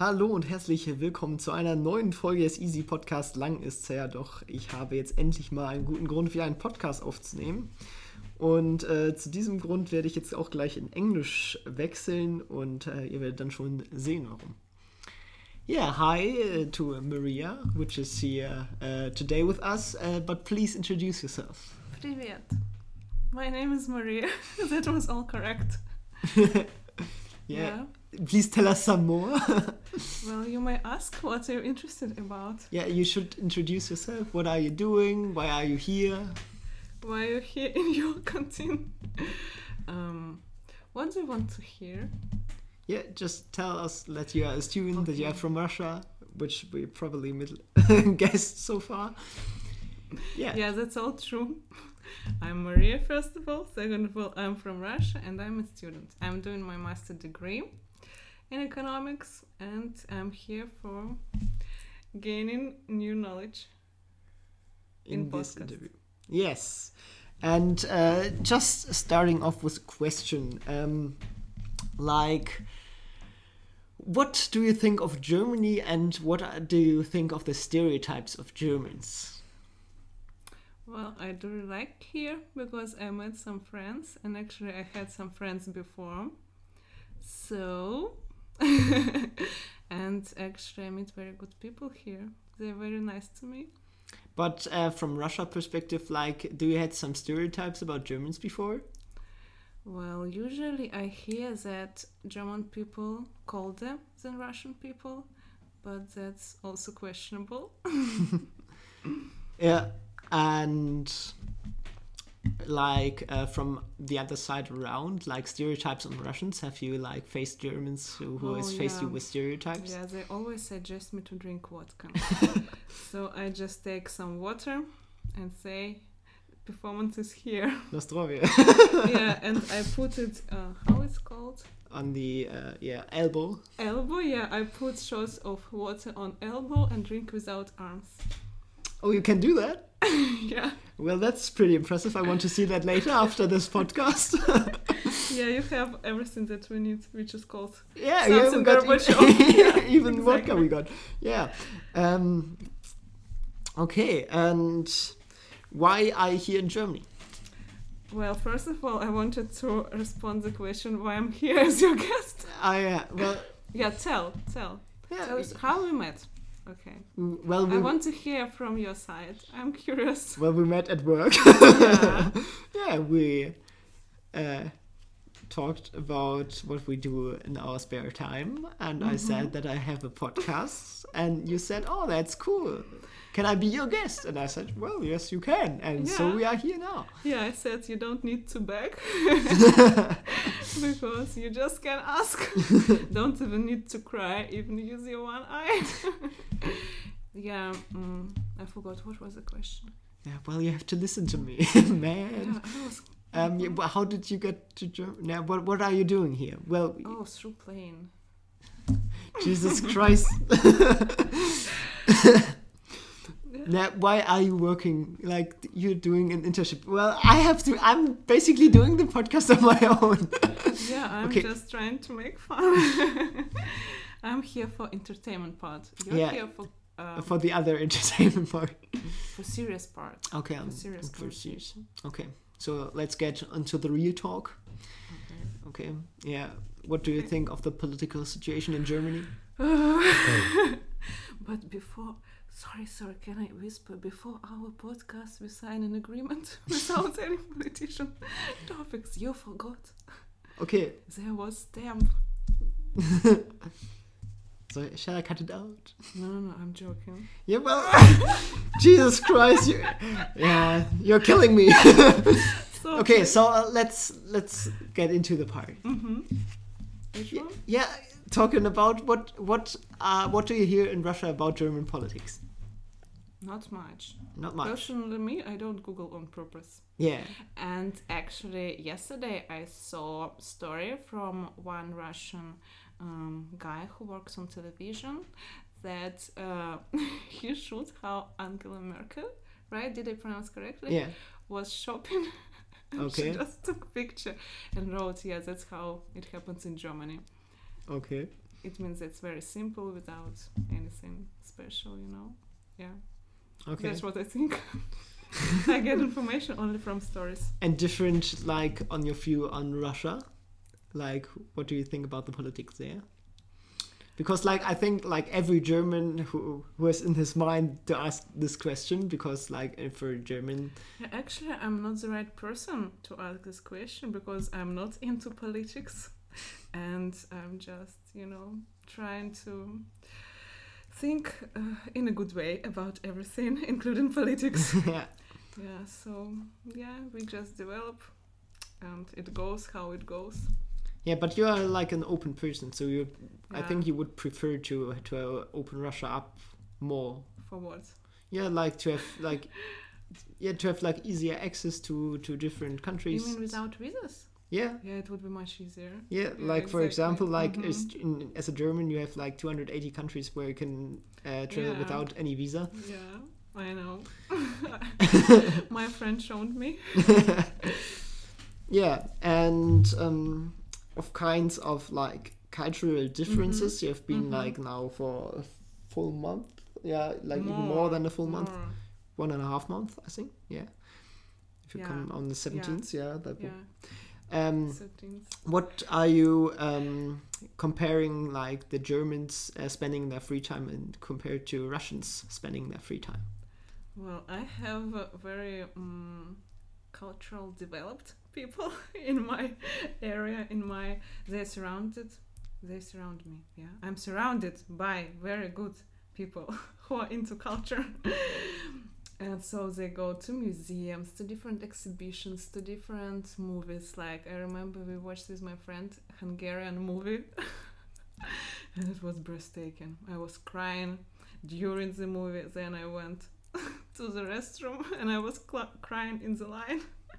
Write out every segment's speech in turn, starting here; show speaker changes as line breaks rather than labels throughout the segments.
Hallo und herzlich willkommen zu einer neuen Folge des Easy Podcast. Lang ist's her, doch ich habe jetzt endlich mal einen guten Grund, wieder einen Podcast aufzunehmen. Und zu diesem Grund werde ich jetzt auch gleich in Englisch wechseln und ihr werdet dann schon sehen, warum. Yeah, hi to Maria, which is here today with us, but please introduce yourself.
Привет. My name is Maria. That was all correct.
Yeah. Please tell us some more.
Well, you may ask what you're interested about.
Yeah, you should introduce yourself. What are you doing? Why are you here?
Why you're here in your canteen? What do you want to hear?
Yeah, just tell us that you are a student, that you are from Russia, which we probably guessed so far.
Yeah, that's all true. I'm Maria, first of all. Second of all, I'm from Russia and I'm a student. I'm doing my master degree in economics and I'm here for gaining new knowledge in
this
podcast.
interview. Yes. And just starting off with a question, what do you think of Germany and what do you think of the stereotypes of Germans?
Well, I do like here because I met some friends and actually I had some friends before. So, and actually I meet very good people here. They're very nice to me.
But from Russia perspective, do you had some stereotypes about Germans before?
Well, usually I hear that German people colder than Russian people, but that's also questionable.
Yeah, and from the other side around, stereotypes on Russians, have you faced Germans who has faced you with stereotypes?
Yeah, they always suggest me to drink vodka. So I just take some water and say, performance is here.
Nostrovia.
Yeah, and I put it, how it's called?
On the, elbow.
Elbow, yeah, I put shots of water on elbow and drink without arms.
Oh, you can do that?
Yeah.
Well, that's pretty impressive. I want to see that later after this podcast.
Yeah, you have everything that we need, which is called
yeah,
something
we got even
exactly.
vodka we got. Yeah. Okay, and why are you here in Germany?
Well, first of all, I wanted to respond the question why I'm here as your guest.
Yeah,
tell.
Yeah,
Tell us how we met. Okay.
Well,
I want to hear from your side. I'm curious.
Well, we met at work.
Yeah.
Yeah, we talked about what we do in our spare time, and I said that I have a podcast, and you said, "Oh, that's cool. Can I be your guest?" And I said, "Well, yes, you can." And so we are here now.
Yeah, I said you don't need to beg because you just can ask. Don't even need to cry, even use your one eye. Yeah, I forgot what was the question.
Yeah, well, you have to listen to me, man.
Yeah,
how did you get to Germany? Now, what are you doing here? Well,
through plane.
Jesus Christ. Now, why are you working you're doing an internship? Well, I'm basically doing the podcast on my own.
Yeah, I'm just trying to make fun. I'm here for entertainment part. You're here
for the other entertainment part.
For serious part.
Okay,
for serious.
Okay, so let's get into the real talk. Okay, yeah. What do you think of the political situation in Germany?
But before... Sorry, can I whisper? Before our podcast, we sign an agreement without any politician topics. You forgot.
Okay.
There was stamp.
So, shall I cut it out?
No, I'm joking.
Yeah, well, Jesus Christ, you're killing me. Okay, so let's get into the part.
Mm-hmm. Which one?
Yeah, talking about what do you hear in Russia about German politics?
Not much.
Not much.
Personally, me, I don't Google on purpose.
Yeah.
And actually, yesterday I saw a story from one Russian guy who works on television that he showed how Angela Merkel, right? Did I pronounce correctly?
Yeah.
Was shopping.
Okay.
She just took a picture and wrote, yeah, that's how it happens in Germany.
Okay.
it means it's very simple without anything special, you know. Yeah.
Okay.
That's what I think. I get information only from stories.
And different, like, on your view on Russia? Like, what do you think about the politics there? Because, like, I think, like, every German who has in his mind to ask this question, because, like, if for a German...
Yeah, actually, I'm not the right person to ask this question, because I'm not into politics. And I'm just, you know, trying to think in a good way about everything, including politics.
Yeah.
Yeah, so, yeah, we just develop, and it goes how it goes.
Yeah, but you are like an open person, so I think you would prefer to open Russia up more.
For what?
Yeah, like to have like easier access to different countries.
You mean without visas?
Yeah.
Yeah, it would be much easier.
Yeah, like for example, like as a German, you have like 280 countries where you can travel without any visa.
Yeah, I know. My friend showed me.
Yeah, and of kinds of like cultural differences. You have been like now for a full month. Yeah, like even more than a full month. 1.5 months, I think. Yeah. If you come on the 17th, that will. What are you comparing like the Germans spending their free time and compared to Russians spending their free time?
Well, I have a very cultural developed people in my area, they surround me. Yeah, I'm surrounded by very good people who are into culture. And so they go to museums, to different exhibitions, to different movies. Like I remember we watched with my friend Hungarian movie and it was breathtaking. I was crying during the movie. Then I went to the restroom and I was crying in the line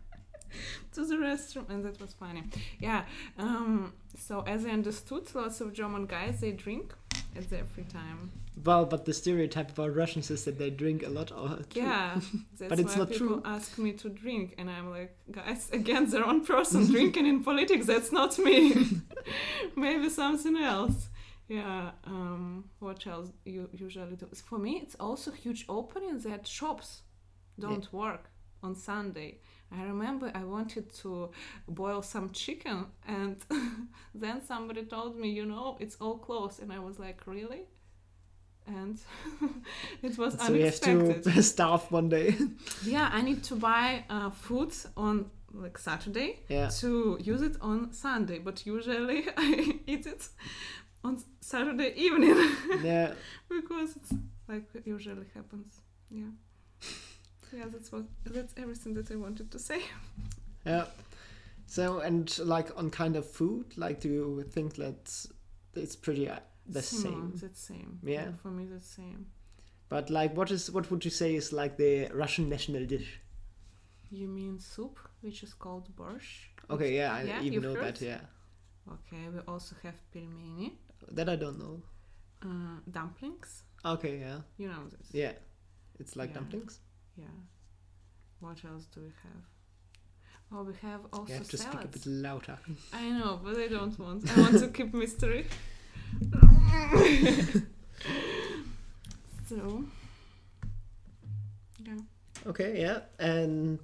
to the restroom, and that was funny. Yeah. So as I understood, lots of German guys, they drink at their free time.
Well, but the stereotype about Russians is that they drink a lot.
Yeah, that's
but it's
why
not
people
true.
Ask me to drink, and I'm like, guys, again, the wrong person drinking in politics. That's not me. Maybe something else. Yeah. What else you usually do? For me, it's also huge opening that shops don't work on Sunday. I remember I wanted to boil some chicken, and then somebody told me, it's all closed, and I was like, really? And it was unexpected.
So you have to starve one day.
Yeah, I need to buy food on like Saturday to use it on Sunday, but usually I eat it on Saturday evening.
Yeah.
Because it's like it usually happens. Yeah. Yeah, that's everything that I wanted to say.
Yeah. So, and like on kind of food, like do you think that it's pretty the same?
That's same.
Yeah.
For me, that's same.
But like, what would you say is like the Russian national dish?
You mean soup, which is called borscht?
Okay, I even know that. Yeah.
Okay, we also have pelmeni.
That I don't know.
Dumplings.
Okay, yeah.
You know this.
Yeah, it's like dumplings.
Yeah. What else do we have? Oh, we have also salads.
You have to speak a bit louder.
I know, but I don't want. I want to keep mystery. So, yeah.
Okay, yeah, and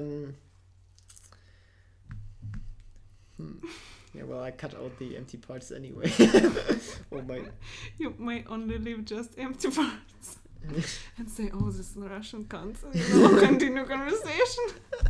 yeah. Well, I cut out the empty parts anyway.
You might only leave just empty parts. And say, oh, this Russian cunt. Continue conversation.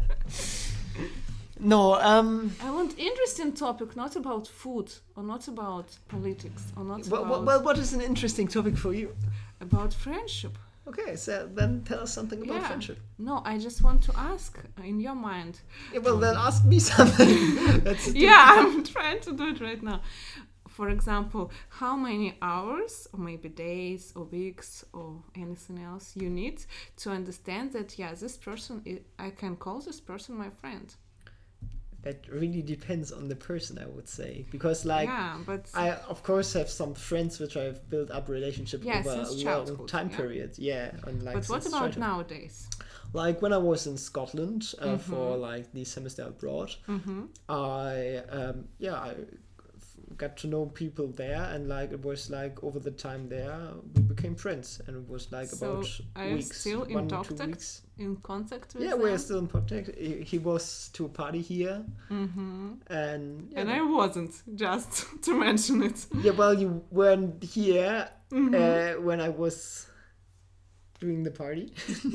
No,
I want interesting topic, not about food, or not about politics, or not about...
Well, what is an interesting topic for you?
About friendship.
Okay, so then tell us something about friendship.
No, I just want to ask, in your mind...
Yeah, well, then ask me something.
I'm trying to do it right now. For example, how many hours, or maybe days, or weeks, or anything else you need to understand that, this person, I can call this person my friend?
That really depends on the person, I would say. Because, like,
but
I, of course, have some friends which I've built up relationship over a long time period. Yeah. And, like,
but what about nowadays?
Like, when I was in Scotland for, like, the semester abroad, I got to know people there, and like it was like over the time there we became friends, and it was like
So
about
are you
weeks,
still in
1 to 2
contact?
weeks.
In contact with
Yeah,
them?
we're still in contact. He was to a party here,
Mm-hmm.
and
And I wasn't, just to mention it.
yeah, well, you weren't here
Mhm.
when I was doing the party.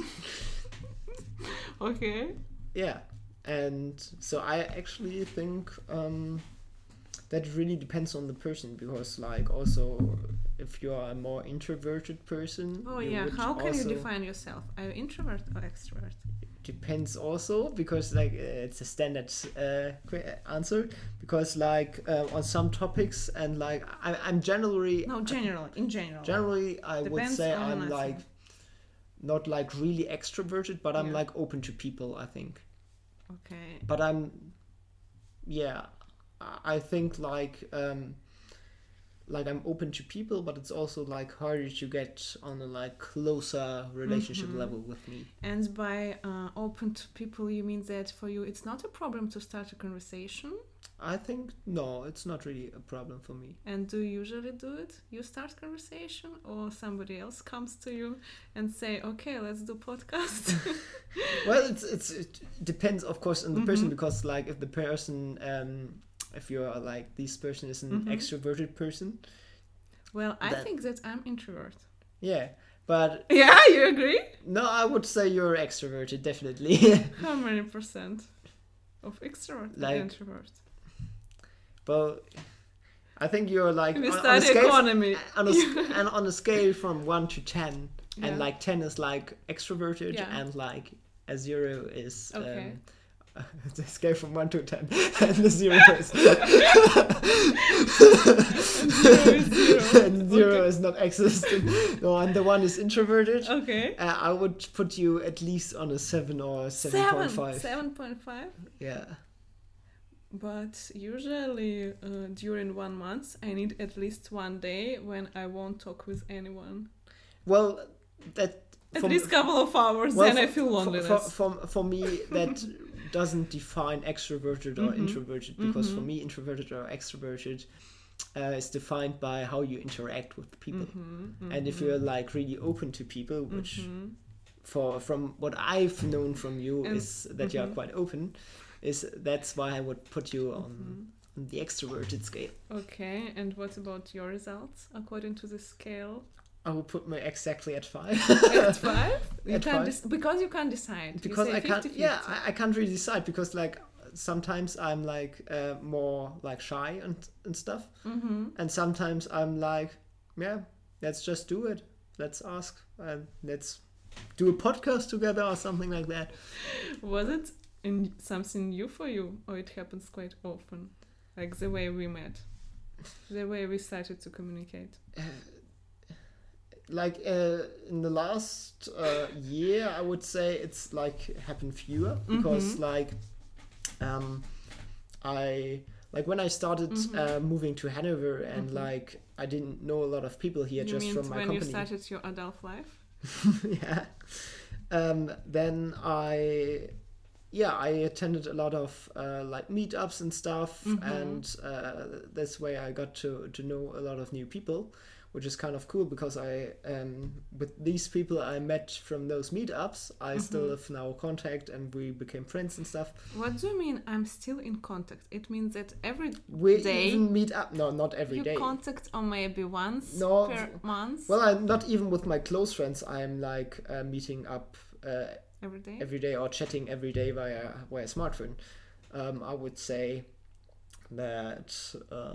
Okay.
Yeah, and so I actually think that really depends on the person, because like also if you are a more introverted person,
Oh
you
yeah,
would
how can you
also-
define yourself? Are you introvert or extrovert?
Depends also, because like it's a standard answer, because like on some topics, and like I'm generally
No, in general.
generally I would
Depends
say
on
I'm
nothing.
like not like really extroverted, but I'm
Yeah.
like open to people, I think.
Okay.
But I think like I'm open to people, but it's also like harder to get on a like closer relationship
Mhm.
level with me.
And by open to people, you mean that for you it's not a problem to start a conversation?
I think no, it's not really a problem for me.
And do you usually do it? You start conversation, or somebody else comes to you and say, "Okay, let's do podcast."
Well, it depends, of course, on the person,
Mhm.
because like if the person if you're like this person is an
Mhm.
extroverted person,
Well, I
That-
think that I'm introvert.
yeah. But
Yeah, you agree?
no, I would say you're extroverted, definitely.
How many percent of extrovert
Like-
and introvert?
Well, I think you're like
We
on a
study
scale
economy.
and on a scale from 1 to 10,
Yeah.
and like 10 is like extroverted,
Yeah.
and like a 0 is
Okay.
the scale from 1 to 10, and the 0 is and 0
Okay.
is not existent. No, and the 1 is introverted.
Okay.
I would put you at least on a 7 or 7.5.
7.5.
Yeah.
But usually during 1 month, I need at least 1 day when I won't talk with anyone.
Well, that
At
from-
least couple of hours,
well,
then I
for-
feel
for-
loneliness.
For me, that doesn't define extroverted or
Mhm.
introverted, because for
Mhm.
me, introverted or extroverted is defined by how you interact with people.
Mhm,
And if
mhm,
you're like really open to people, which
mhm.
from what I've known from you
And-
is that you are
mhm.
quite open, that's why I would put you on
Mhm.
the extroverted scale.
Okay, and what about your results according to the scale?
I would put me exactly at 5.
At 5? You
At
can't
5.
because you can't decide. You
Because
say
I can't
50-50.
yeah I can't really decide, because like sometimes I'm like more like shy and stuff,
Mhm.
and sometimes I'm like, yeah, let's just do it, let's ask, and let's do a podcast together or something like that.
Was it something new for you, or it happens quite often? Like the way we met, the way we started to communicate.
Like in the last year, I would say it's like happened fewer, because
Mhm.
like I like when I started moving to Hanover, and like I didn't know a lot of people here
You
just
mean
from my
when
company.
you started your adult life?
Yeah. Then I attended a lot of like meetups and stuff, and this way I got to know a lot of new people, which is kind of cool, because I with these people I met from those meetups, I still have now contact, and we became friends and stuff.
What do you mean I'm still in contact? It means that every
We
day
even meet up. No, not every
you
day.
contact or maybe once
No,
per month?
Well, I'm not even with my close friends. I'm like meeting up
every day?
every day, or chatting every day via smartphone. I would say that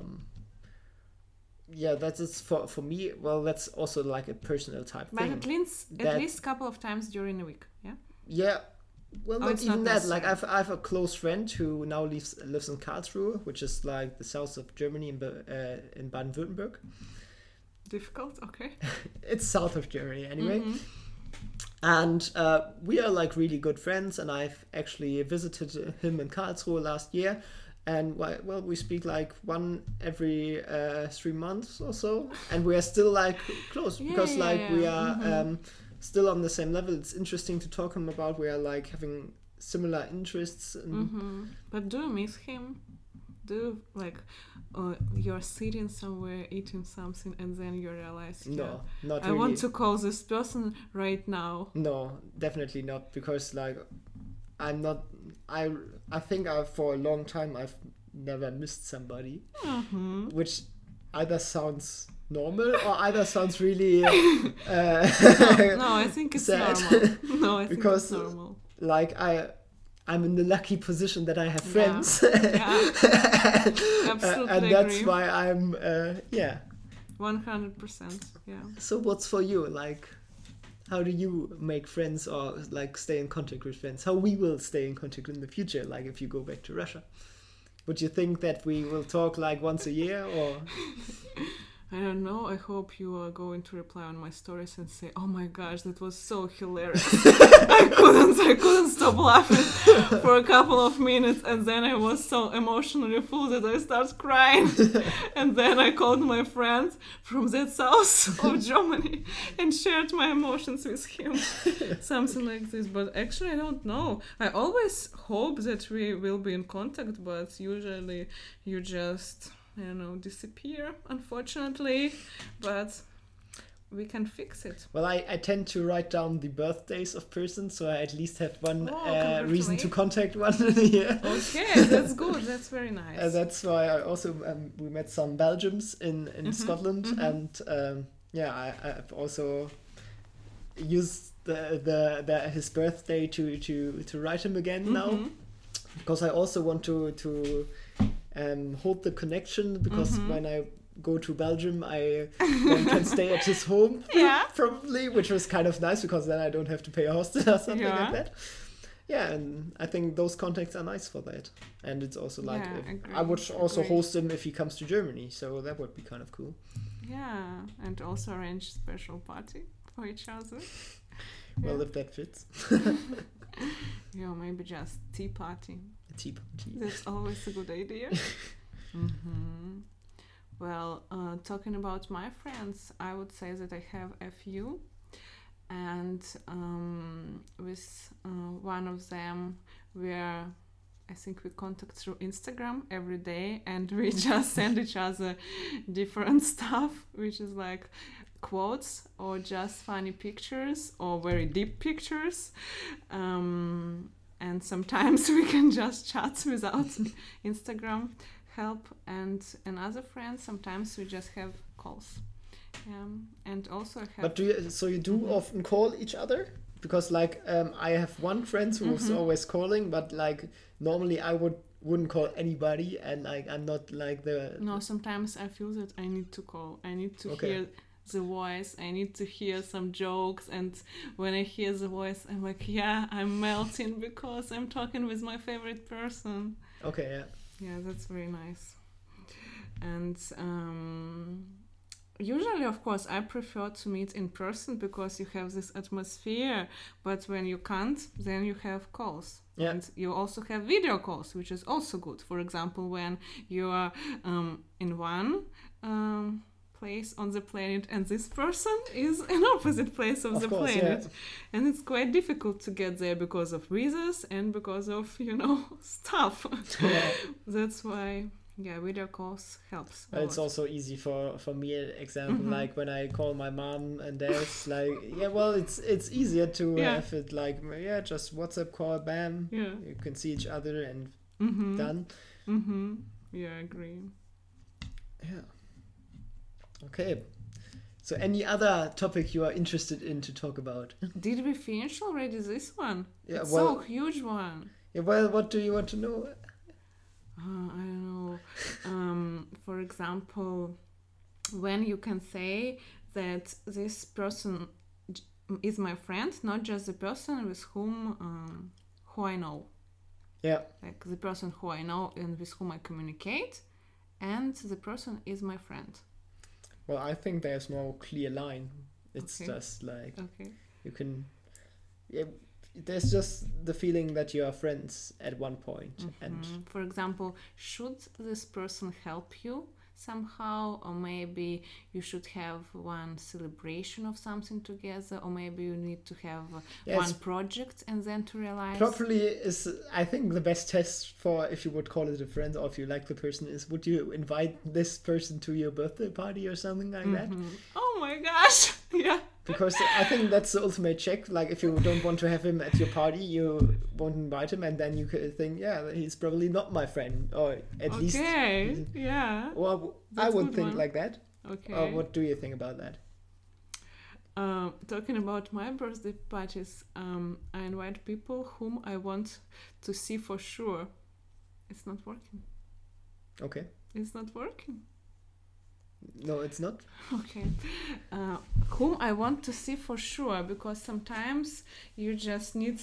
that is for me. Well, that's also like a personal type
But
thing.
at least couple of times during the week, yeah?
Yeah. Well,
Oh,
not
it's
even
not
that. Like
necessary.
I have a close friend who now lives in Karlsruhe, which is like the south of Germany in Baden-Württemberg.
Difficult, okay.
It's south of Germany anyway.
Mhm.
And we are like really good friends, and I've actually visited him in Karlsruhe last year. And well, we speak like one every 3 months or so, and we are still like close, because we are still on the same level. It's interesting to talk him about. We are like having similar interests. And
But do you miss him? do like you're sitting somewhere eating something and then you realize
no, not
I
really.
want to call this person right now?
No, definitely not, because like I'm not. I think for a long time I've never missed somebody, which either sounds normal or either sounds really.
No, I think it's
sad.
normal. No, I think
because
it's normal.
Like I'm in the lucky position that I have friends.
Yeah. Absolutely
and that's
agree.
why I'm
100%. Yeah.
So what's for you? Like, how do you make friends or like stay in contact with friends? How we will stay in contact in the future? Like if you go back to Russia, would you think that we will talk like once a year or?
I don't know. I hope you are going to reply on my stories and say, "Oh my gosh, that was so hilarious! I couldn't stop laughing for a couple of minutes, and then I was so emotionally full that I started crying. And then I called my friend from that south of Germany and shared my emotions with him, something like this. But actually, I don't know. I always hope that we will be in contact, but usually you just." I don't know, disappear, unfortunately, but we can fix it.
Well, I tend to write down the birthdays of persons, so I at least have one reason to contact one in a year.
Okay, that's good. That's very nice.
That's why I also we met some Belgians in Scotland, and I've also used his birthday to write him again now, because I also want to hold the connection, because when I go to Belgium I then can stay at his home probably, which was kind of nice because then I don't have to pay a hostel or something like that. Yeah, and I think those contacts are nice for that. And it's also like I would also host him if he comes to Germany, so that would be kind of cool.
Yeah, and also arrange special party for each other.
Well, if that fits.
Yeah, maybe just tea party.
Tea party.
That's always a good idea. Well, talking about my friends, I would say that I have a few, and with one of them I think we contact through Instagram every day, and we just send each other different stuff, which is like quotes or just funny pictures or very deep pictures. And sometimes we can just chat without Instagram help. And another friend, sometimes we just have calls. And also I have...
But do you do often call each other? Because like I have one friend who's always calling, but like normally I wouldn't call anybody, and like I'm not like the...
No, sometimes I feel that I need to call. I need to hear the voice. I need to hear some jokes, and when I hear the voice I'm like, I'm melting because I'm talking with my favorite person.
Okay,
yeah, that's very nice. And usually, of course, I prefer to meet in person because you have this atmosphere, but when you can't, then you have calls.
Yeah.
And you also have video calls, which is also good. For example, when you are in one place on the planet and this person is in opposite place of the planet. And it's quite difficult to get there because of visas and because of, stuff. That's why... Yeah, video calls helps.
But it's also easy for me, example, like when I call my mom and dad's like, it's easier to have it like, just WhatsApp call, bam, you can see each other and done.
Yeah, I agree.
Yeah. Okay. So any other topic you are interested in to talk about?
Did we finish already this one?
Yeah,
it's so huge one.
Yeah, well, what do you want to know?
I don't know. For example, when you can say that this person is my friend, not just the person with whom who I know.
Yeah.
Like the person who I know and with whom I communicate, and the person is my friend.
Well, I think there's more clear line. It's just like you can... Yeah, there's just the feeling that you are friends at one point. And
for example, should this person help you somehow, or maybe you should have one celebration of something together, or maybe you need to have one project and then to realize.
Properly is, I think, the best test for if you would call it a friend or if you like the person is, would you invite this person to your birthday party or something like that?
Oh my gosh, yeah.
Because I think that's the ultimate check. Like, if you don't want to have him at your party, you won't invite him, and then you could think, yeah, he's probably not my friend, or at least.
Okay, yeah.
Well, I would think like that.
Okay.
What do you think about that?
Talking about my birthday parties, I invite people whom I want to see for sure. It's not working.
Okay.
It's not working.
No, it's not.
Okay. Whom I want to see for sure, because sometimes you just need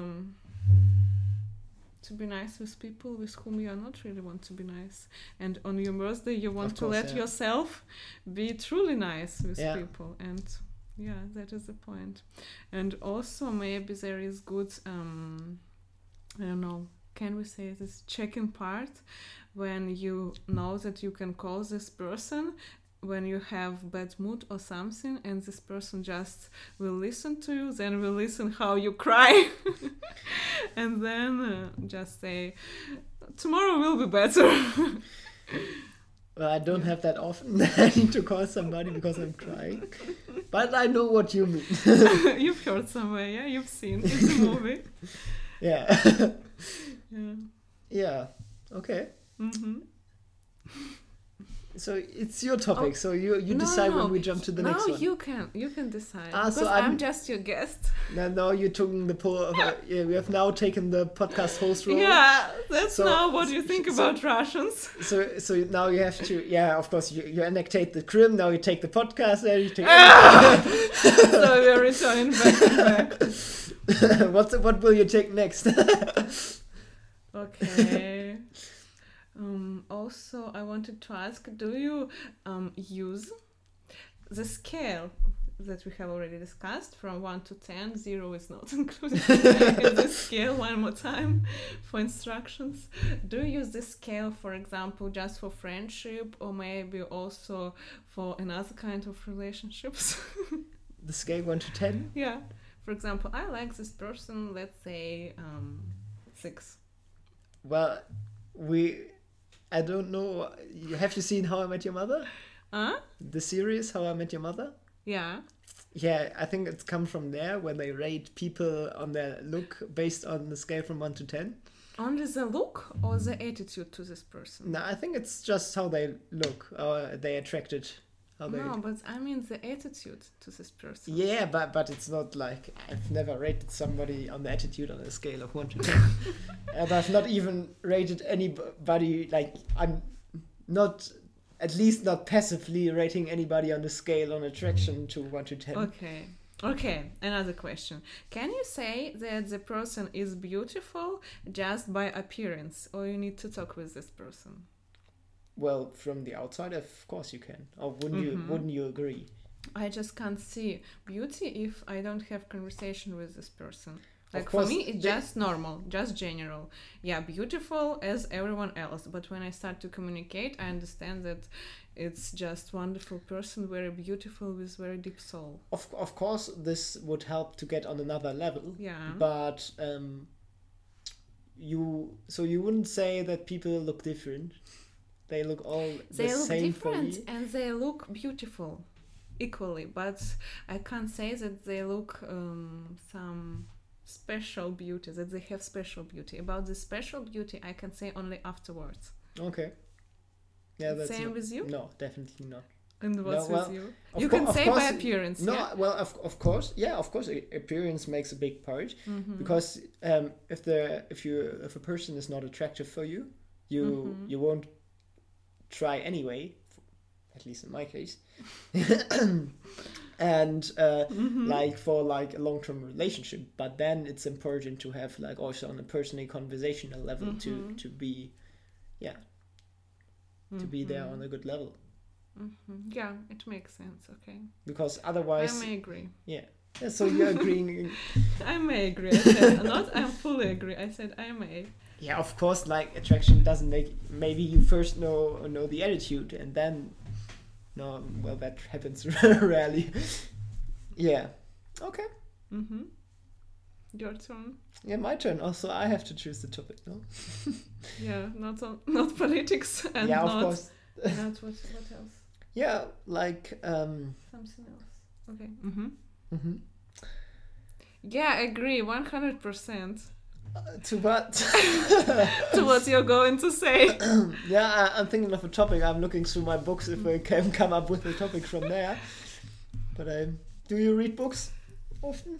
to be nice with people with whom you are not really want to be nice. And on your birthday, you want to let yourself be truly nice with people. And yeah, that is the point. And also maybe there is good, I don't know, can we say this check-in part when you know that you can call this person when you have bad mood or something, and this person just will listen to you, then will listen how you cry, and then just say, tomorrow will be better.
Well, I don't have that often. I need to call somebody because I'm crying. But I know what you mean.
You've heard somewhere, yeah? You've seen. It's a movie.
Yeah.
Yeah.
Yeah. Okay.
Mm-hmm.
So it's your topic. So you decide when we jump to the next one.
No, you can decide. Because
so
I'm just your guest.
No, you took the we have now taken the podcast host role.
Yeah, that's now what you think about Russians.
So now you have to. Yeah, of course you annexate the Crim. Now you take the podcast. There you take.
So we're returning back to back.
What will you take next?
Okay. Also, I wanted to ask, do you use the scale that we have already discussed from 1 to 10? 0 is not included in this scale. One more time for instructions. Do you use this scale, for example, just for friendship, or maybe also for another kind of relationships?
The scale 1 to 10?
Yeah. For example, I like this person, let's say 6.
Well, I don't know. Have you seen How I Met Your Mother? The series How I Met Your Mother?
Yeah.
Yeah, I think it's come from there, when they rate people on their look based on the scale from 1 to 10.
Only the look or the attitude to this person?
No, I think it's just how they look, or they attracted.
No, but I mean the attitude to this person.
Yeah, but it's not like, I've never rated somebody on the attitude on a scale of 1 to 10. And I've not even rated anybody, like, I'm not, at least not passively rating anybody on the scale on attraction to 1 to 10.
Okay, another question. Can you say that the person is beautiful just by appearance, or you need to talk with this person?
Well, from the outside, of course you can. Or wouldn't you agree?
I just can't see beauty if I don't have conversation with this person. Like, for me, it's just normal, just general. Yeah, beautiful as everyone else. But when I start to communicate, I understand that it's just wonderful person, very beautiful, with very deep soul.
Of course, this would help to get on another level.
Yeah.
But you wouldn't say that people look different. They look all the same.
They look different and they look beautiful equally, but I can't say that they look some special beauty, that they have special beauty. About the special beauty, I can say only afterwards.
Okay. Yeah, that's
same with you?
No, definitely not.
And what's with you? You can say by appearance.
No,
yeah?
Well, of course, yeah, of course, appearance makes a big part.
Mm-hmm.
Because if a person is not attractive for you, you won't try anyway, at least in my case. And like for like a long-term relationship, but then it's important to have like also on a personal conversational level to be to be there on a good level.
Yeah, it makes sense. Okay,
because otherwise
I may agree.
Yeah, Yeah, so you're agreeing.
I may agree. I said not. I fully agree. I said I may.
Yeah, of course. Like attraction doesn't make. Maybe you first know the attitude, and then. No, well, that happens rarely. Yeah. Okay.
Your turn.
Yeah, my turn. Also, I have to choose the topic, no?
Yeah, not politics and
yeah,
not.
Of course.
Not what else?
Yeah, like.
Something else. Okay. Yeah, I agree. 100%.
To what?
To what you're going to say.
Yeah, I'm thinking of a topic. I'm looking through my books if I can come up with a topic from there. But do you read books often?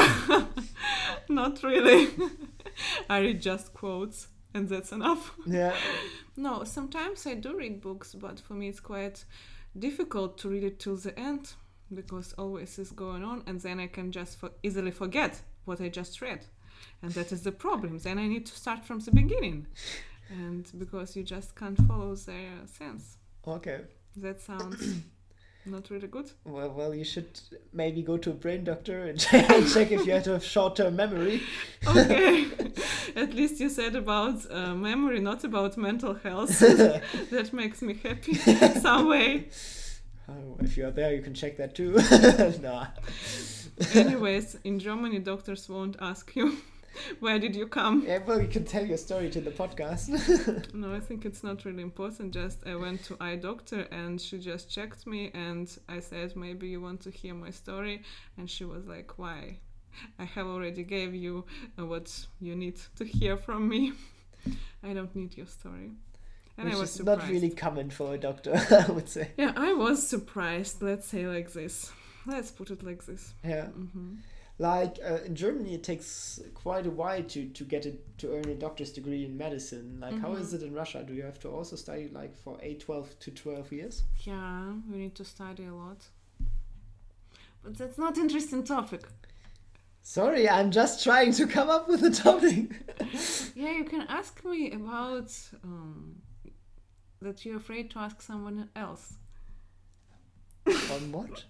Not really. I read just quotes and that's enough.
Yeah.
No, sometimes I do read books, but for me it's quite difficult to read it till the end because always is going on and then I can just easily forget what I just read. And that is the problem. Then I need to start from the beginning. And because you just can't follow their sense.
Okay.
That sounds not really good.
Well, you should maybe go to a brain doctor and check if you have short-term memory.
Okay. At least you said about memory, not about mental health. That makes me happy some way.
Oh, if you are there, you can check that too. No.
Anyways, in Germany, doctors won't ask you. Where did you come?
Yeah, well, you can tell your story to the podcast.
No, I think it's not really important. Just I went to eye doctor and she just checked me and I said, maybe you want to hear my story. And she was like, why? I have already gave you what you need to hear from me. I don't need your story. And
Which
I was
is
surprised.
Not really common for a doctor, I would say.
Yeah, I was surprised. Let's say like this. Let's put it like this.
Yeah. Like in Germany, it takes quite a while to earn a doctor's degree in medicine. Like, how is it in Russia? Do you have to also study like for 12 to 12 years?
Yeah, we need to study a lot. But that's not an interesting topic.
Sorry, I'm just trying to come up with a topic.
Yeah, you can ask me about that you're afraid to ask someone else.
On what?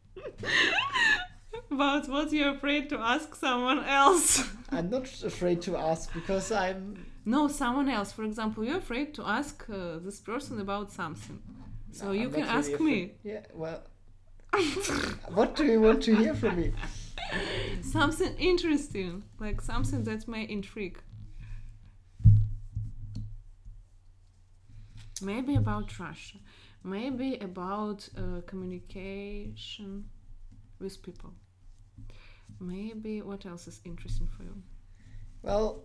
About what you're afraid to ask someone else.
I'm not afraid to ask because I'm...
No, someone else. For example, you're afraid to ask this person about something. So no, you can ask me.
Yeah, well... What do you want to hear from me?
Something interesting. Like something that may intrigue. Maybe about Russia. Maybe about communication with people. Maybe what else is interesting for you?
Well,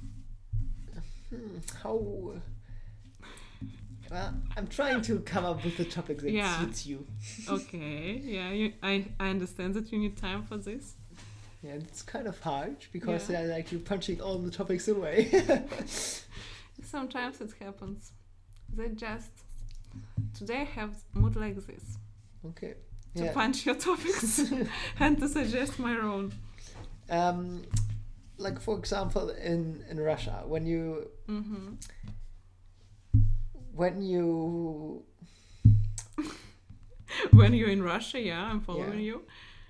well, I'm trying to come up with a topic that suits you.
Okay, yeah, I understand that you need time for this.
Yeah, it's kind of hard because I like you punching all the topics away.
Sometimes it happens. They just today have mood like this.
Okay.
To punch your topics and to suggest my own.
Like for example, in Russia, when you when you're in Russia, I'm following you.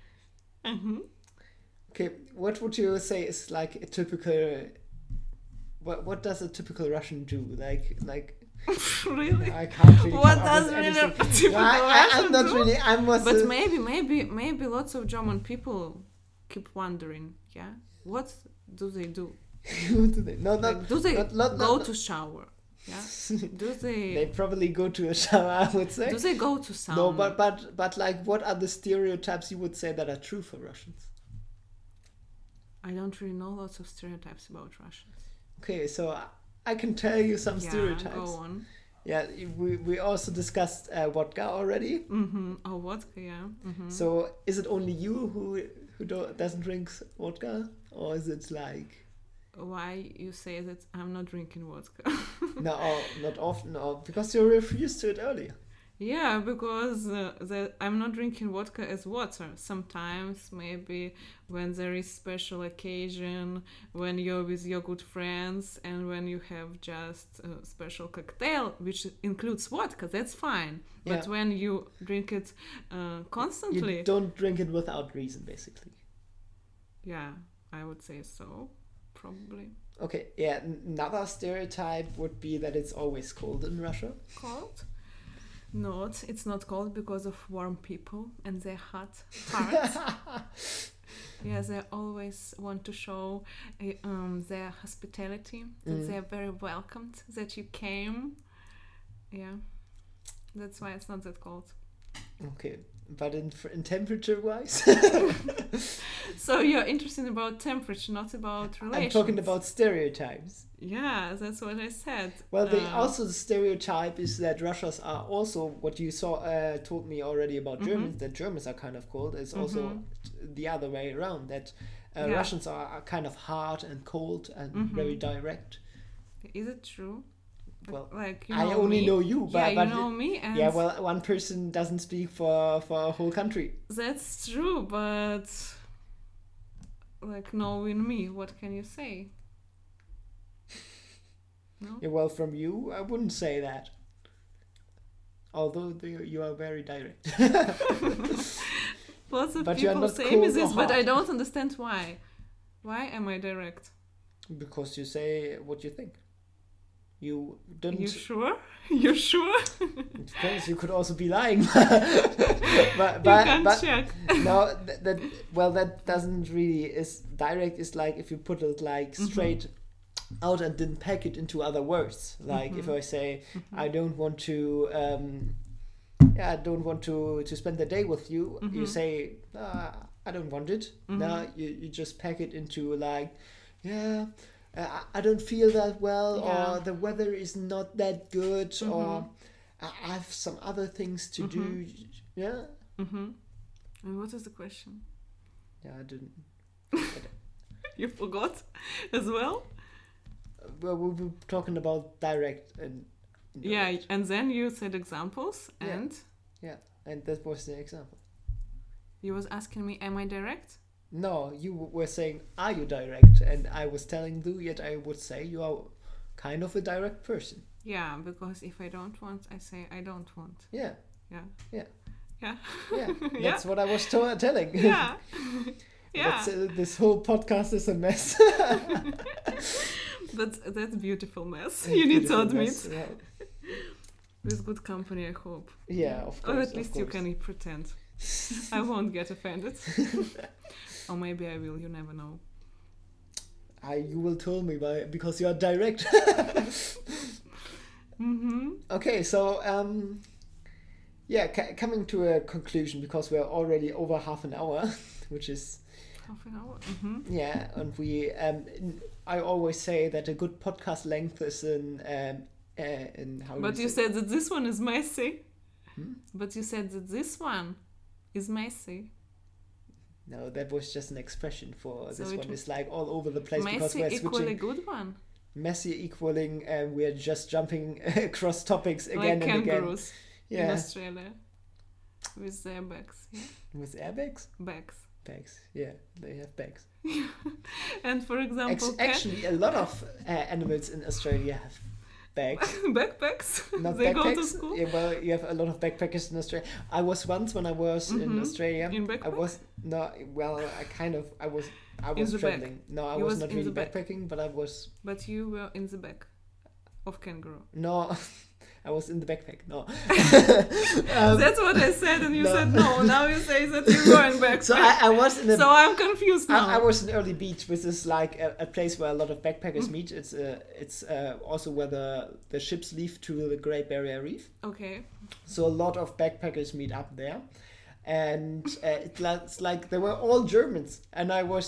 Okay, what would you say is like a typical? What does a typical Russian do? Like.
Really?
I can't really.
What does really a typical Russian
I'm not
do?
really.
But maybe lots of German people keep wondering. Yeah, what do they do?
What do they? No,
do they go to shower? Yeah. Do they?
They probably go to a shower. I would say.
Do they go to sauna?
No, but like, what are the stereotypes you would say that are true for Russians?
I don't really know lots of stereotypes about Russians.
Okay, so I can tell you some stereotypes.
Go on.
Yeah, we also discussed vodka already.
Oh, vodka, yeah.
So is it only you who doesn't drink vodka, or is it like?
Why you say that I'm not drinking vodka?
No, not often, or because you refused to it earlier.
Yeah, because I'm not drinking vodka as water. Sometimes, maybe when there is special occasion, when you're with your good friends, and when you have just a special cocktail, which includes vodka, that's fine.
Yeah.
But when you drink it constantly...
You don't drink it without reason, basically.
Yeah, I would say so, probably.
Okay, yeah, another stereotype would be that it's always cold in Russia.
Cold? Not. It's not cold because of warm people and their hot hearts. Yeah, they always want to show their hospitality, that they are very welcomed, that you came. Yeah, that's why it's not that cold.
Okay, but in temperature-wise?
So you're interested about temperature, not about relations.
I'm talking about stereotypes.
Yeah, that's what I said.
Well, also the stereotype is that Russians are also, what you told me already about Germans, that Germans are kind of cold. It's also the other way around, that Russians are kind of hard and cold and very direct.
Is it true?
Well,
like,
I only know you, but
you know me. And
yeah, well, one person doesn't speak for a whole country.
That's true, but like knowing me, what can you say? No?
Yeah, well, from you, I wouldn't say that. Although you are very direct.
Lots of people say me this, but I don't understand why. Why am I direct?
Because you say what you think. You don't.
You sure? You sure?
It depends. You could also be lying. but
check.
No, that doesn't really. Is direct is like if you put it like straight out and didn't pack it into other words. Like if I say I don't want to. I don't want to spend the day with you. You say I don't want it. No, you just pack it into like I don't feel that well, or the weather is not that good, or I have some other things to do. Yeah.
And what is the question?
Yeah, I didn't.
You forgot as well?
Well, we were talking about direct and indirect.
And then you said examples, and...
Yeah, and that was the example.
You was asking me, am I direct?
No, you were saying, are you direct? And I was telling you, yet I would say you are kind of a direct person.
Yeah, because if I don't want, I say I don't want.
Yeah.
Yeah.
Yeah.
Yeah.
Yeah. That's what I was telling.
Yeah. Yeah.
This whole podcast is a mess.
But that's a beautiful mess. You need to admit.
Mess, yeah.
With good company, I hope.
Yeah, of course.
Or at least you can pretend. I won't get offended. Or maybe I will, you never know.
You will tell me because you are direct. Okay, so coming to a conclusion, because we're already over half an hour, which is
half an hour.
Yeah, and we I always say that a good podcast length is in how.
But you said that this one is messy. But you said that this one is messy.
No, that was just an expression for this one. It's like all over the place because we're switching.
Messy equal a good one.
Messy equaling, we're just jumping across topics again
like
and again.
Kangaroos in Australia with their bags. Yeah?
With airbags?
Bags.
Bags, yeah, they have bags.
And for example,
actually, a lot of animals in Australia have bags.
Backpacks?
Not
they
backpacks.
Go to school?
Yeah, well, you have a lot of backpackers in Australia. I was once when I was in Australia.
In backpack?
I was traveling. No, I was not really backpacking, but I was.
But you were in the back of kangaroo.
No. I was in the backpack. No.
That's what I said, and you said no. Now you say that you were in backpack.
So I was in.
So I'm confused now.
I was in Early Beach, which is like a place where a lot of backpackers meet. It's also where the ships leave to the Great Barrier Reef.
Okay.
So a lot of backpackers meet up there, and it's like they were all Germans, and I was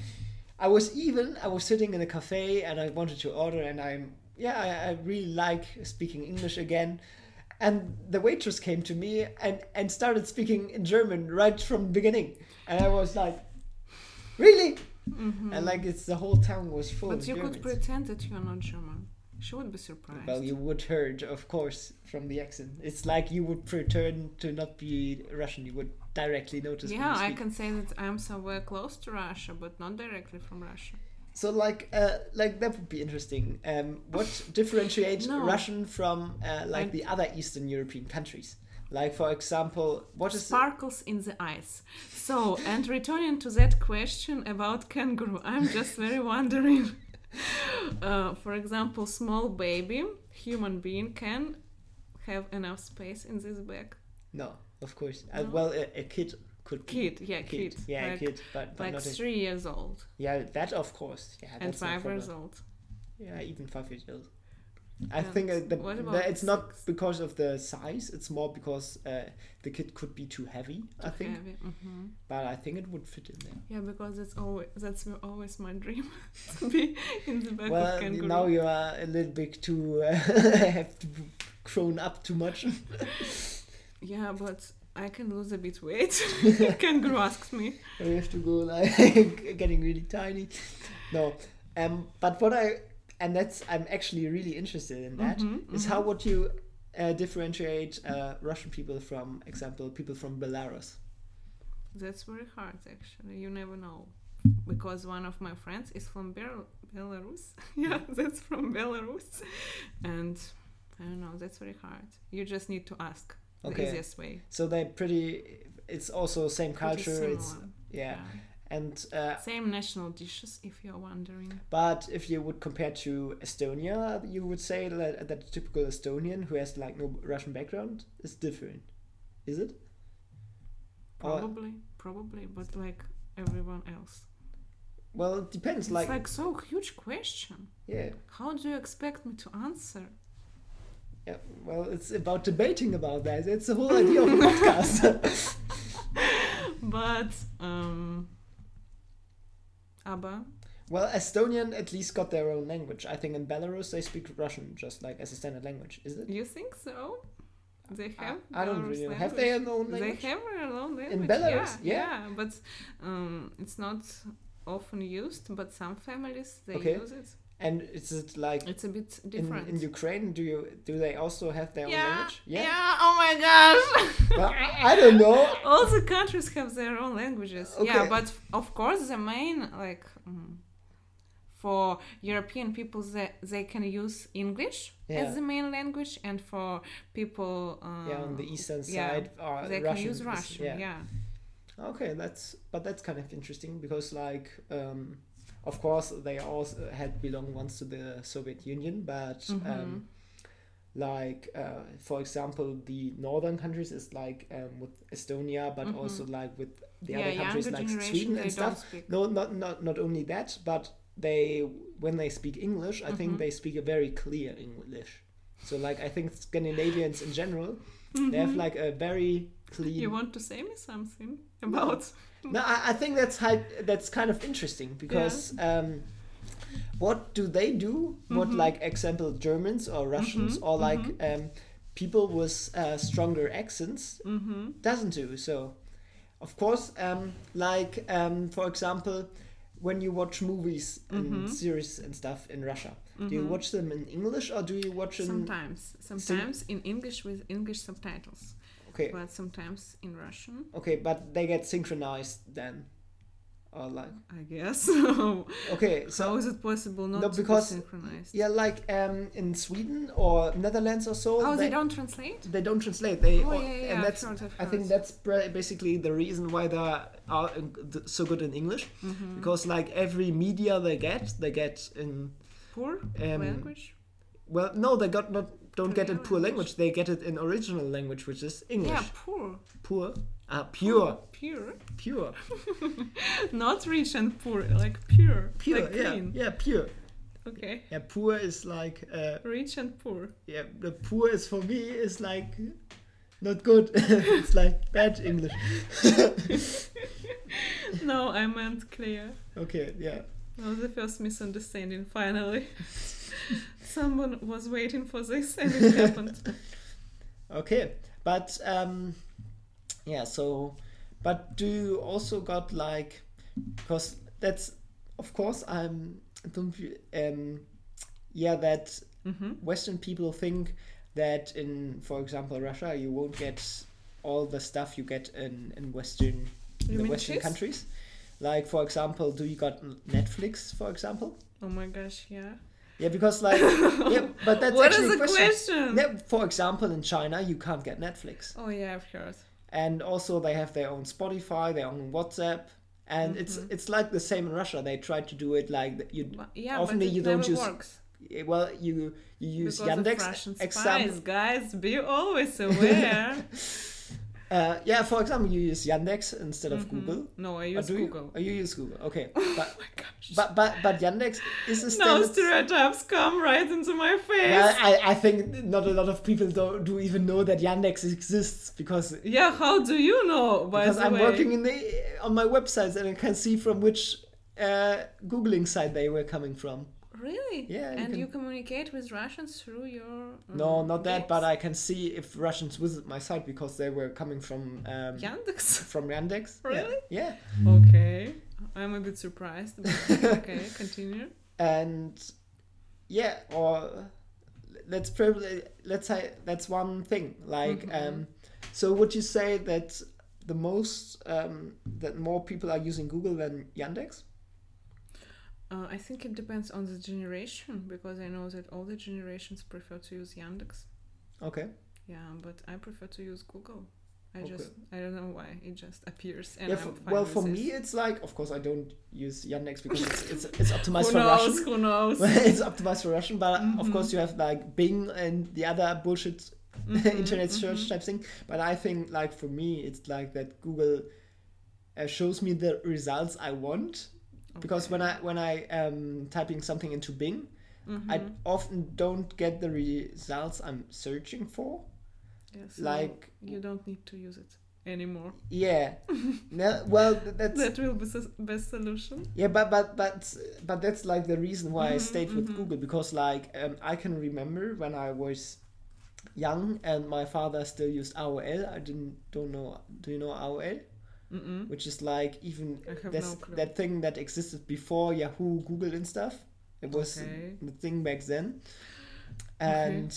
sitting in a cafe and I wanted to order, and I really like speaking English again. And the waitress came to me and started speaking in German right from the beginning. And I was like, really? And like the whole town was full of Germans.
But you could pretend that you're not German. She would be surprised.
Well, you would heard, of course, from the accent. It's like you would pretend to not be Russian. You would directly notice.
Yeah, I can say that I'm somewhere close to Russia, but not directly from Russia.
So, like that would be interesting. What differentiates Russian from the other Eastern European countries? Like, for example, what is
sparkles in the eyes. So, and returning to that question about kangaroo, I'm just very wondering. For example, small baby, human being can have enough space in this bag?
No, of course. No? Well, a kid could be.
Kid.
Yeah,
like,
a kid, but
like
not
3 years old.
Yeah, that of course. Yeah,
and 5 years old.
Yeah, even 5 years old. I think that it's not because of the size. It's more because the kid could be too heavy. I think, but I think it would fit in there.
Yeah, because that's always my dream to be in the back of kangaroo.
Well, now you are a little bit too have to grown up too much.
Yeah, but I can lose a bit weight. Kangaroo asks me.
You have to go like getting really tiny. No, but I'm actually really interested in that. Is how would you differentiate Russian people from, example, people from Belarus?
That's very hard, actually. You never know. Because one of my friends is from Belarus. Yeah, that's from Belarus. And I don't know, that's very hard. You just need to ask. The easiest way.
So it's also same culture. It's yeah. And
same national dishes, if you're wondering.
But if you would compare to Estonia, you would say that the typical Estonian who has like no Russian background is different. Is it?
Probably, but like everyone else.
Well, it depends.
It's like so huge question.
Yeah.
How do you expect me to answer?
Yeah. Well, it's about debating about that. It's the whole idea of a podcast.
But ABBA?
Well, Estonian at least got their own language. I think in Belarus they speak Russian just like as a standard language. Is it?
You think so? They have.
I don't really know. Have they their own language?
They have their own language.
In Belarus,
yeah. But it's not often used. But some families they use it.
And is it like
it's a bit different
in Ukraine? Do they also have their own language?
Yeah. Oh my gosh.
Well, I don't know.
All the countries have their own languages. Okay. Yeah, but of course the main for European people they can use English as the main language, and for people
on the eastern side
they
Russian
can use Russian. Yeah.
Okay, that's kind of interesting because like. Of course, they also had belonged once to the Soviet Union, but for example, the northern countries is like with Estonia, but also like with the other countries like Sweden and stuff. No, not only that, but when they speak English, I think they speak a very clear English. So like I think Scandinavians in general, they have like a very clean.
You want to say me something about?
No, I think that's kind of interesting because what do they do? What like example Germans or Russians or like people with stronger accents doesn't do. So of course for example when you watch movies and series and stuff in Russia, do you watch them in English or do you watch them
sometimes in English with English subtitles? Okay. But sometimes in Russian.
Okay, but they get synchronized then, or like.
I guess.
Okay, so
how is it possible not to be synchronized?
Yeah, like in Sweden or Netherlands or so.
Oh, they don't translate.
They don't translate. And that's. I think that's basically the reason why they are so good in English, because like every media they get in.
Poor language.
Well, no, they don't get it in poor language. They get it in original language, which is English.
Yeah, poor.
Poor? Pure.
Pure. Not rich and poor, like pure.
Pure,
like clean.
Yeah, pure.
Okay.
Yeah, poor is like...
rich and poor.
Yeah, the poor is for me is like not good. It's like bad English.
No, I meant clear.
Okay, yeah.
That was the first misunderstanding, finally. Someone was waiting for this and it happened.
Okay, but but do you also got like, because that's of course that Western people think that in, for example, Russia, you won't get all the stuff you get in Western countries. Like, for example, do you got Netflix, for example?
Oh my gosh, yeah.
Yeah, because like, yeah, but that's
what
actually
is the question?
Yeah, for example, in China, you can't get Netflix.
Oh yeah, of course.
And also they have their own Spotify, their own WhatsApp, and it's like the same in Russia. They try to do it like you.
Yeah,
often
but
you
it
don't
never
use.
Works.
Well, you use
because
Yandex.
Of Russian spies, guys, be always aware.
Yeah, for example, you use Yandex instead of Google.
No, I use Google.
You use Google. Okay,
oh my gosh.
But Yandex is a
no stereotypes come right into my face.
Well, I think not a lot of people do even know that Yandex exists because.
Yeah, how do you know?
Because I'm working on my websites and I can see from which Googling site they were coming from.
Really?
Yeah.
And you communicate with Russians through your...
no, not that, but I can see if Russians visit my site because they were coming from...
Yandex?
From Yandex.
Really?
Yeah.
Okay. I'm a bit surprised, but okay, continue.
And yeah, or let's say that's one thing. Like, so would you say that the most, that more people are using Google than Yandex?
I think it depends on the generation, because I know that all the generations prefer to use Yandex.
Okay.
Yeah, but I prefer to use Google. I don't know why, it just appears. And
for me, it's like, of course, I don't use Yandex because it's optimized for Russian.
Who knows?
It's optimized for Russian, but of course you have like Bing and the other bullshit internet search type thing. But I think like for me, it's like that Google shows me the results I want. Because when I typing something into Bing, I often don't get the results I'm searching for.
Yes, so
like
you don't need to use it anymore.
Yeah. No, well,
that will be the best solution.
Yeah, but that's like the reason why I stayed with Google, because like I can remember when I was young and my father still used AOL. Don't know. Do you know AOL? Which is like even that thing that existed before Yahoo, Google and stuff. It was the thing back then. And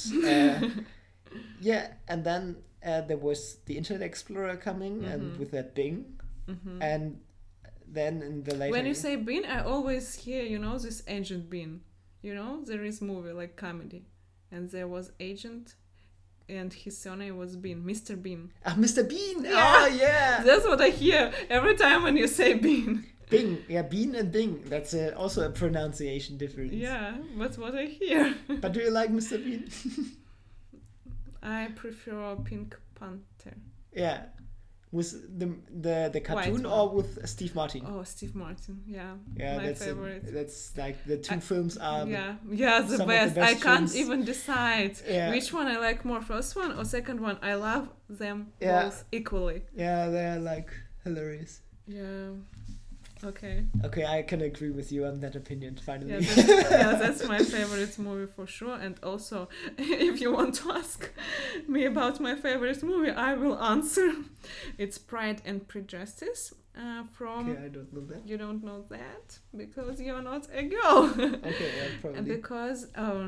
yeah, and then there was the Internet Explorer coming and with that Bing. And then in the later...
When you say Bing, I always hear, this Agent Bean. There is movie like comedy. And there was Agent... And his surname was Bean, Mr. Bean.
Ah, Mr. Bean!
Yeah.
Oh, yeah!
That's what I hear every time when you say Bean.
Bing, yeah, Bean and Bing. That's also a pronunciation difference.
Yeah, that's what I hear.
But do you like Mr. Bean?
I prefer Pink Panther.
Yeah. With the cartoon or with Steve Martin?
Oh, Steve Martin, yeah.
Yeah,
my favorite.
That's like the two films are
the best. I can't even decide which one I like more, first one or second one. I love them both equally.
Yeah, they're like hilarious.
Yeah. Okay.
Okay, I can agree with you on that opinion, finally.
Yeah, that's my favorite movie for sure. And also, if you want to ask me about my favorite movie, I will answer. It's Pride and Prejudice from...
Okay, I don't know that.
You don't know that? Because you're not a girl.
Okay, yeah, probably.
Because,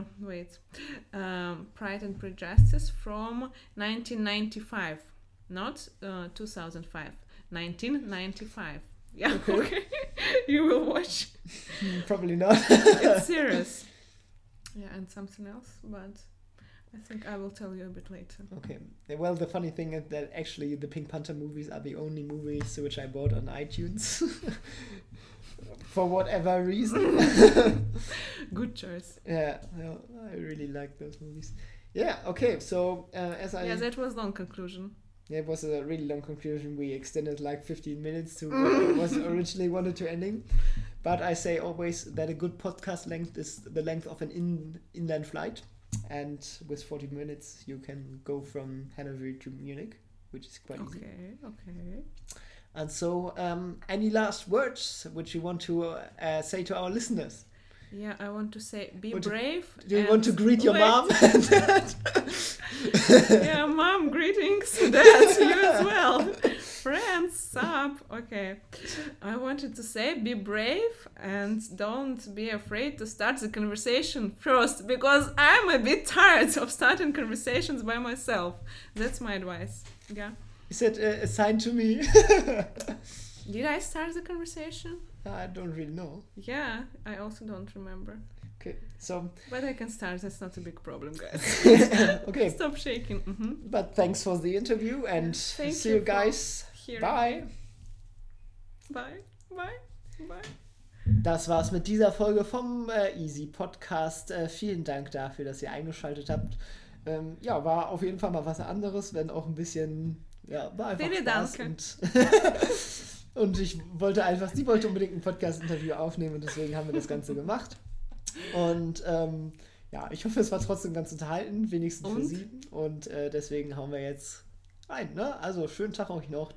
Pride and Prejudice from 1995. Not 2005. 1995. Yeah, okay. You will watch.
Probably not.
It's serious. Yeah, and something else, but I think I will tell you a bit later.
Okay. Well, the funny thing is that actually the Pink Panther movies are the only movies which I bought on iTunes. For whatever reason.
Good choice.
Yeah, I really like those movies. Yeah, okay, so
Yeah, that was long conclusion.
Yeah, it was a really long conclusion. We extended like 15 minutes to what was originally wanted to ending. But I say always that a good podcast length is the length of an inland flight. And with 40 minutes, you can go from Hanover to Munich, which is quite easy.
Okay.
And so, any last words which you want to say to our listeners?
Yeah, I want to say, be brave.
Do you want to greet your mom?
Yeah, mom, greetings. Dad, you as well. friends, sup? Okay. I wanted to say be brave and don't be afraid to start the conversation first because I'm a bit tired of starting conversations by myself. That's my advice. Yeah.
You said assign to me.
Did I start the conversation?
I don't really know.
Yeah, I also don't remember.
Okay, so...
But I can start, that's not a big problem, guys.
Okay.
Stop shaking. Mm-hmm.
But thanks for the interview and see you guys. Bye.
Bye. Bye. Bye.
Das war's mit dieser Folge vom Easy Podcast. Vielen Dank dafür, dass ihr eingeschaltet habt. Ja, war auf jeden Fall mal was anderes, wenn auch ein bisschen... Ja, war einfach Spaß. Und sie wollte unbedingt ein Podcast-Interview aufnehmen und deswegen haben wir das Ganze gemacht. Und ja, ich hoffe, es war trotzdem ganz unterhalten, wenigstens für sie. Und deswegen hauen wir jetzt rein, ne? Also, schönen Tag euch noch.